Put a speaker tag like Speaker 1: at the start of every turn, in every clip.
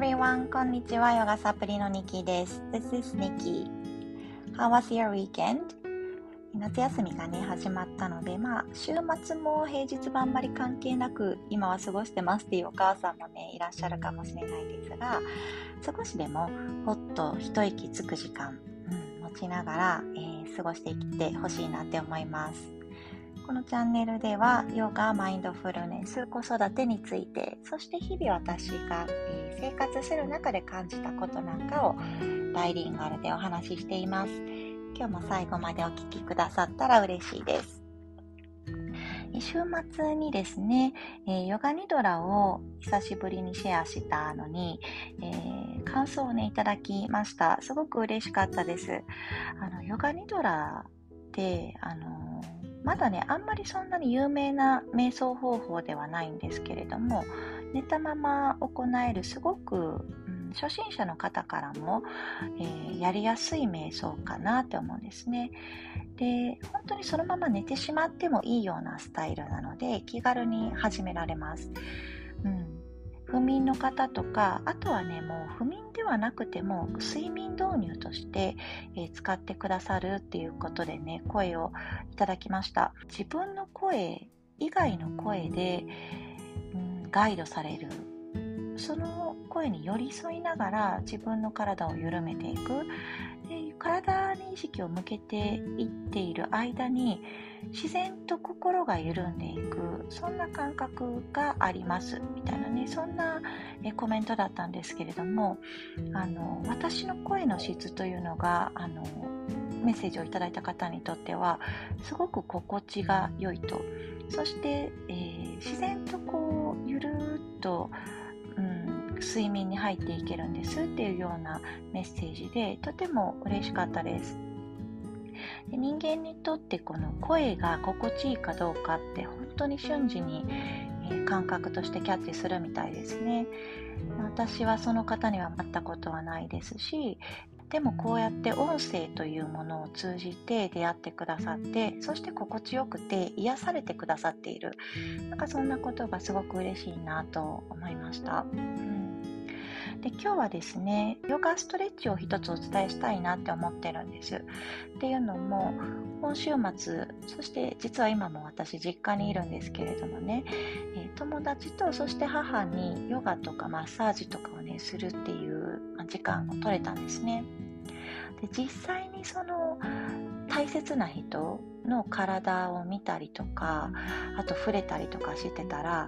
Speaker 1: everyone, こんにちは。ヨガサプリのニキです。This is Nikki. How was your weekend? 夏休みがね、始まったので、週末も平日もあんまり関係なく、今は過ごしてますっていうお母さんもね、いらっしゃるかもしれないですが、少しでもほっと一息つく時間、持ちながら、過ごしていってほしいなって思います。このチャンネルではヨガ、マインドフルネス、子育てについて、そして日々私が、生活する中で感じたことなんかをバイリンガルでお話ししています。今日も最後までお聞きくださったら嬉しいです。週末にですね、ヨガニドラを久しぶりにシェアしたのに、感想をねいただきました。すごく嬉しかったです。ヨガニドラってまだね、あんまりそんなに有名な瞑想方法ではないんですけれども、寝たまま行えるすごく、初心者の方からも、やりやすい瞑想かなって思うんですね。で、本当にそのまま寝てしまってもいいようなスタイルなので、気軽に始められます。不眠の方とか、あとはね、もう不眠ではなくても睡眠導入として、使ってくださるっていうことでね、声をいただきました。自分の声以外の声で、ガイドされる、その声に寄り添いながら自分の体を緩めていく。で、体に意識を向けていっている間に自然と心が緩んでいく、そんな感覚がありますみたいなね、そんなコメントだったんですけれども、私の声の質というのがメッセージをいただいた方にとってはすごく心地が良いと、そして、自然とこうゆるっと、睡眠に入っていけるんですっていうようなメッセージで、とても嬉しかったです。で、人間にとってこの声が心地いいかどうかって本当に瞬時に、感覚としてキャッチするみたいですね。私はその方には会ったことはないですし、でもこうやって音声というものを通じて出会ってくださって、そして心地よくて癒されてくださっている、そんなことがすごく嬉しいなと思いました。で、今日はですね、ヨガストレッチを一つお伝えしたいなって思ってるんです。っていうのも、今週末、そして実は今も私実家にいるんですけれどもね、友達とそして母にヨガとかマッサージとかをねするっていう時間を取れたんですね。で、実際にその大切な人の体を見たりとか、あと触れたりとかしてたら、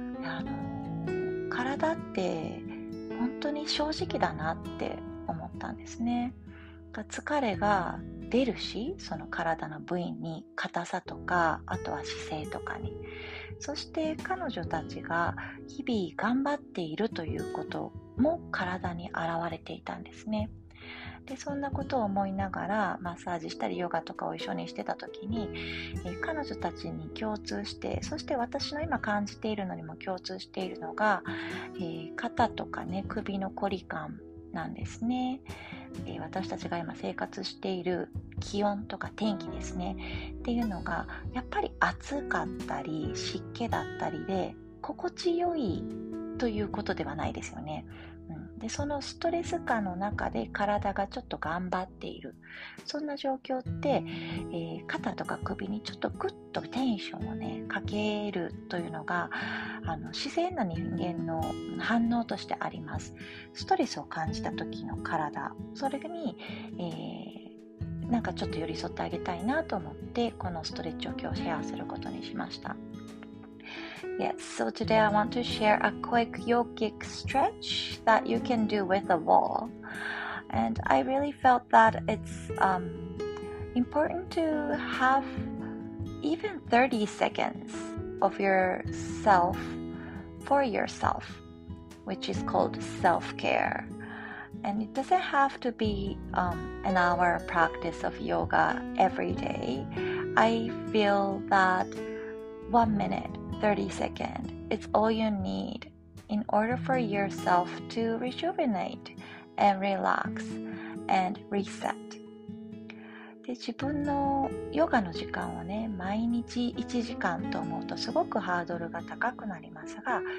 Speaker 1: 体って本当に正直だなって思ったんですね。疲れが出るし、その体の部位に硬さとか、あとは姿勢とかに、そして彼女たちが日々頑張っているということも体に現れていたんですね。で、そんなことを思いながらマッサージしたりヨガとかを一緒にしてた時に、彼女たちに共通して、そして私の今感じているのにも共通しているのが、肩とかね、首のこり感なんですね。私たちが今生活している気温とか天気ですねっていうのがやっぱり暑かったり湿気だったりで心地よいということではないですよね。で、そのストレス感の中で体がちょっと頑張っている、そんな状況って、肩とか首にちょっとグッとテンションをねかけるというのが自然な人間の反応としてあります。ストレスを感じた時の体、それに、ちょっと寄り添ってあげたいなと思ってこのストレッチを今日シェアすることにしました。Yes, so today I want to share a quick yogic stretch that you can do with a wall. And I really felt that it's important to have even 30 seconds of yourself for yourself, which is called self-care. And it doesn't have to be an hour practice of yoga every day. I feel that 1 minute, 30 seconds, it's all you need in order for yourself to rejuvenate and relax and reset. で、自分のヨガの時間をね、毎日1時間と思うとすごくハードルが高くなりますが、本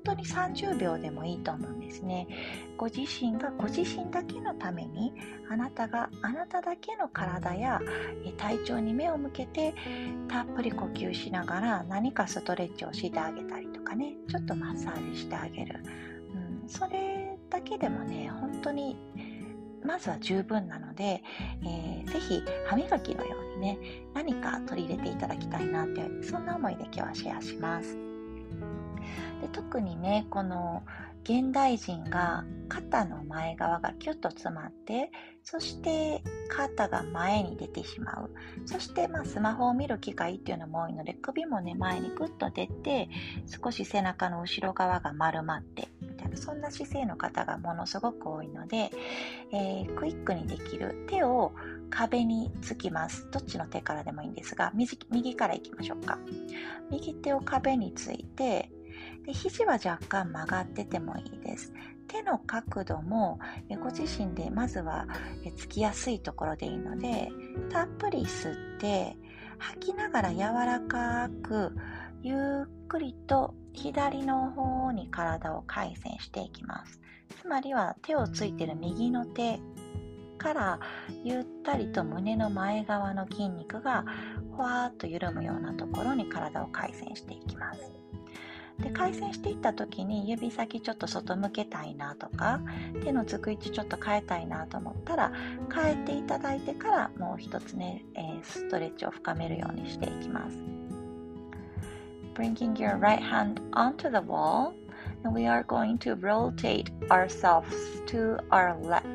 Speaker 1: 当に30秒でもいいと思うんですね。ご自身がご自身だけのために、あなたがあなただけの体や体調に目を向けてたっぷり呼吸しながら何かストレッチをしてあげたりとかね、ちょっとマッサージしてあげる、それだけでもね、本当にまずは十分なので、ぜひ歯磨きのようにね、何か取り入れていただきたいなって、そんな思いで今日はシェアします。で、特にね、この現代人が肩の前側がキュッと詰まって、そして肩が前に出てしまう。そしてスマホを見る機会っていうのも多いので、首もね前にグッと出て、少し背中の後ろ側が丸まってみたいな、そんな姿勢の方がものすごく多いので、クイックにできる、手を壁につきます。どっちの手からでもいいんですが、右からいきましょうか。右手を壁について、で、肘は若干曲がっててもいいです。手の角度もご自身でまずはつきやすいところでいいので、たっぷり吸って吐きながら柔らかくゆっくりと左の方に体を回旋していきます。つまりは手をついている右の手からゆったりと胸の前側の筋肉がふわーっと緩むようなところに体を回旋していきます。で、回旋していった時に指先ちょっと外向けたいなとか、手のつく位置ちょっと変えたいなと思ったら変えていただいてから、もう一つね、ストレッチを深めるようにしていきます。 Bringing your right hand onto the wall, and we are going to rotate ourselves to our left,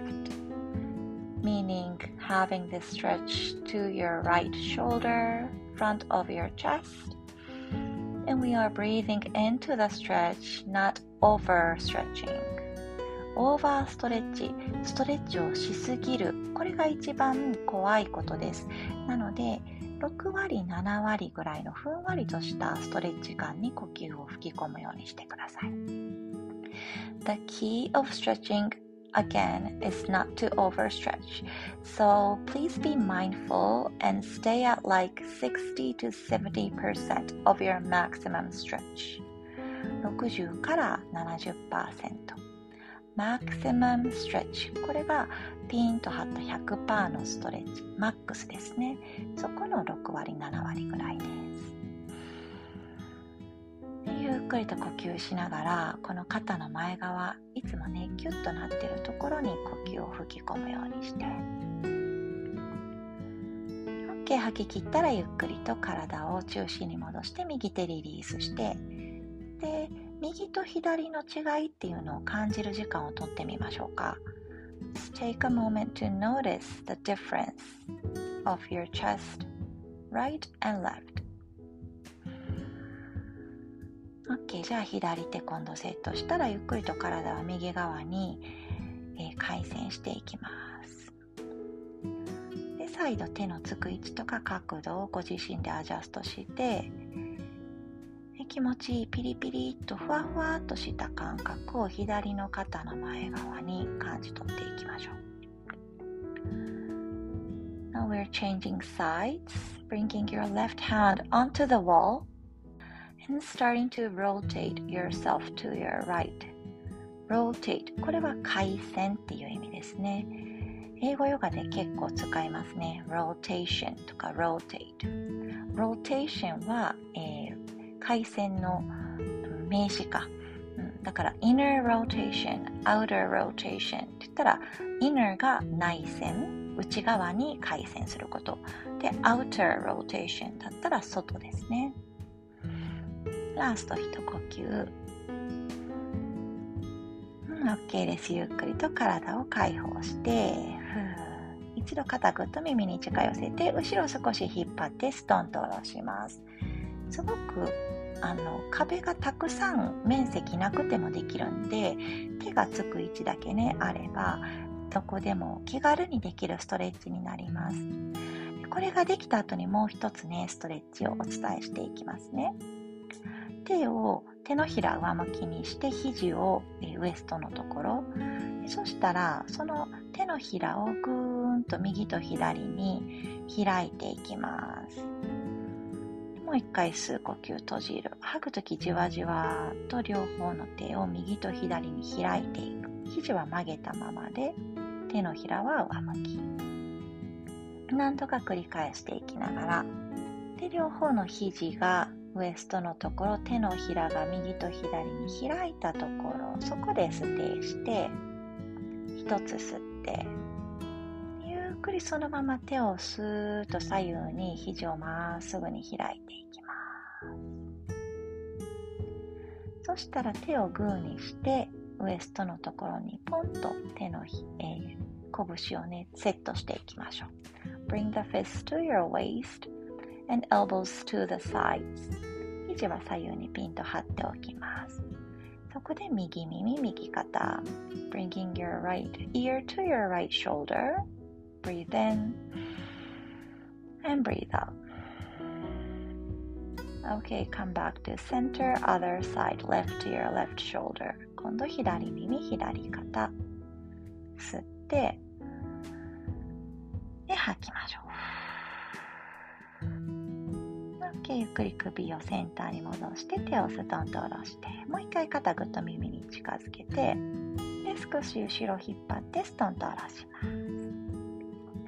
Speaker 1: meaning having this stretch to your right shoulder, front of your chest.And we are breathing into the stretch, not overstretching. オーバーストレッチ、ストレッチをしすぎる。これが一番怖いことです。なので、6割、7割ぐらいのふんわりとしたストレッチ感に呼吸を吹き込むようにしてください。The key of stretching,Again, is not to overstretch, so please be mindful and stay at like 60 to 70% of your maximum stretch. 60から70%。maximum stretch。これがピンと張った 100% のストレッチ。マックスですね。そこの6割、7割ぐらいです。ゆっくりと呼吸しながら、この肩の前側、いつもねキュッとなっているところに呼吸を吹き込むようにして、 OK。 吐き切ったらゆっくりと体を中心に戻して右手リリースして、で、右と左の違いっていうのを感じる時間をとってみましょうか。 Take a moment to notice the difference of your chest, right and left.OK。 じゃあ左手今度セットしたら、ゆっくりと体は右側に、回旋していきます。で、再度手のつく位置とか角度をご自身でアジャストして、気持ちいいピリピリっとふわふわっとした感覚を左の肩の前側に感じ取っていきましょう。 Now we're changing sides, bringing your left hand onto the wall.And starting to rotate yourself to your right. Rotate。これは回旋っていう意味ですね。英語ヨガで結構使いますね。Rotation とか Rotate。Rotation は、回旋の名詞か。だから Inner Rotation、Outer Rotation って言ったら、Inner が内旋、内側に回旋すること。で、Outer Rotation だったら外ですね。ラスト一呼吸。OK です。ゆっくりと体を解放して、一度肩ぐっと耳に近寄せて、後ろ少し引っ張ってストンと下ろします。すごく壁がたくさん面積なくてもできるんで、手がつく位置だけねあれば、どこでも気軽にできるストレッチになります。これができた後にもう一つね、ストレッチをお伝えしていきますね。手のひら上向きにして、肘をウエストのところ、そしたらその手のひらをぐーんと右と左に開いていきます。 もう一回吸う呼吸閉じる。吐くときじわじわと両方の手を右と左に開いていく。肘は曲げたままで、手のひらは上向き。何度か繰り返していきながら、で両方の肘がウエストのところ、手のひらが右と左に開いたところ、そこでステイして、一つ吸って、ゆっくりそのまま手をスーッと左右に肘をまっすぐに開いていきます。そしたら手をグーにして、ウエストのところにポンと手の拳をね、セットしていきましょう。Bring the fist to your waist and elbows to the sides. 肘は左右にピンと張っておきます。そこで右耳、右肩。Bringing your right ear to your right shoulder. Breathe in and breathe out. Okay, come back to center, other side, left ear, left shoulder. 今度左耳、左肩。吸って、で吐きましょう。OK、ゆっくり首をセンターに戻して、手をストンと下ろして、もう一回肩ぐっと耳に近づけて、で少し後ろ引っ張ってストンと下ろします。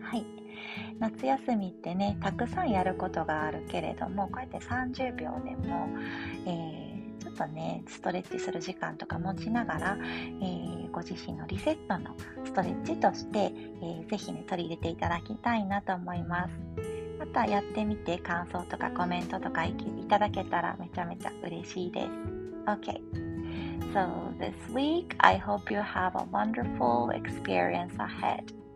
Speaker 1: はい。夏休みってね、たくさんやることがあるけれども、こうやって30秒でも、ちょっとね、ストレッチする時間とか持ちながら、ご自身のリセットのストレッチとして、ぜひね、取り入れていただきたいなと思います。またやってみて感想とかコメントとかいただけたらめちゃめちゃ嬉しいです。Okay, so this week I hope you have a wonderful experience ahead.